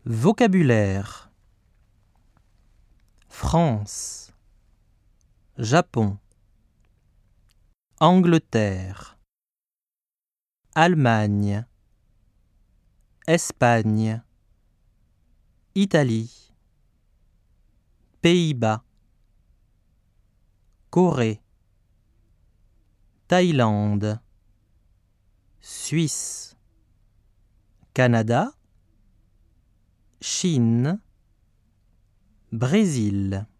Vocabulaire: France, Japon, Angleterre, Allemagne, Espagne, Italie, Pays-Bas, Corée, Thaïlande, Suisse, Canada, Chine, Brésil.